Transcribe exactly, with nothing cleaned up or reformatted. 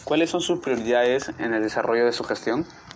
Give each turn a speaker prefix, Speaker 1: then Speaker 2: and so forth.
Speaker 1: ¿Cuáles son sus prioridades en el desarrollo de su gestión?